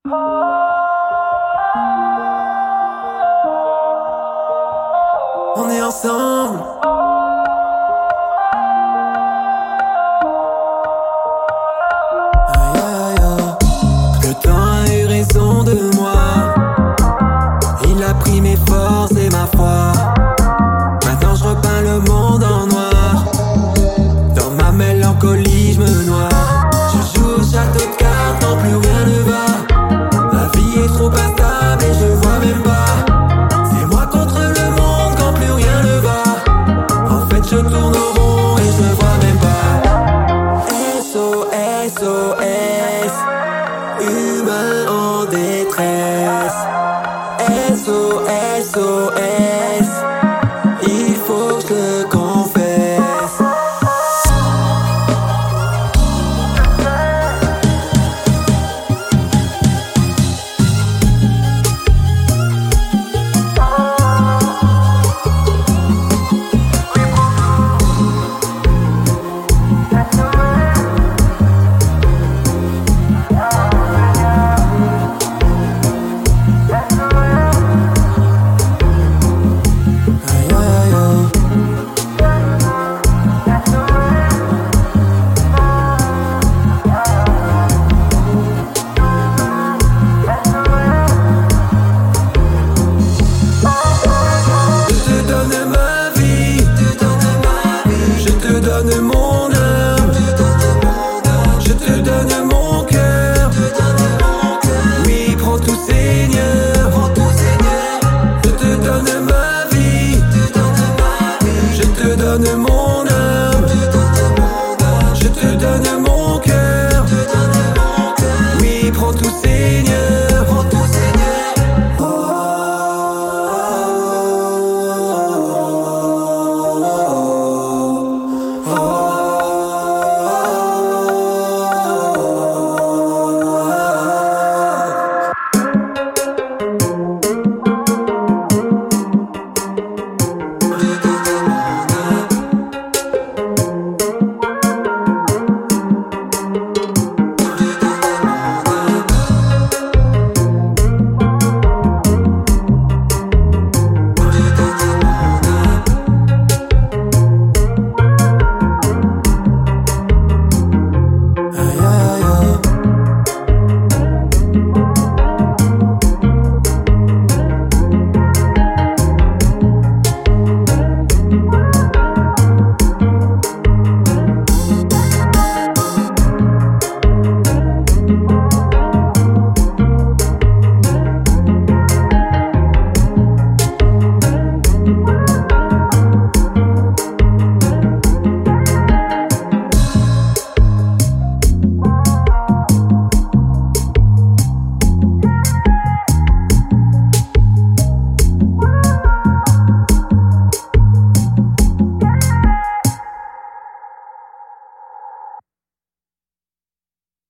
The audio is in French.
On est ensemble. Aïe aïe aïe. Le temps a eu raison de moi. Il a pris mes forces et ma foi. Maintenant je repeins le monde en noir. Dans ma mélancolie je me noie. Je joue au château de cartes, non plus rien ne va. Ma vie est trop instable et je vois même pas. C'est moi contre le monde quand plus rien ne va. En fait je tourne au rond et je ne vois même pas. SOS, SOS, humain en détresse. SOS.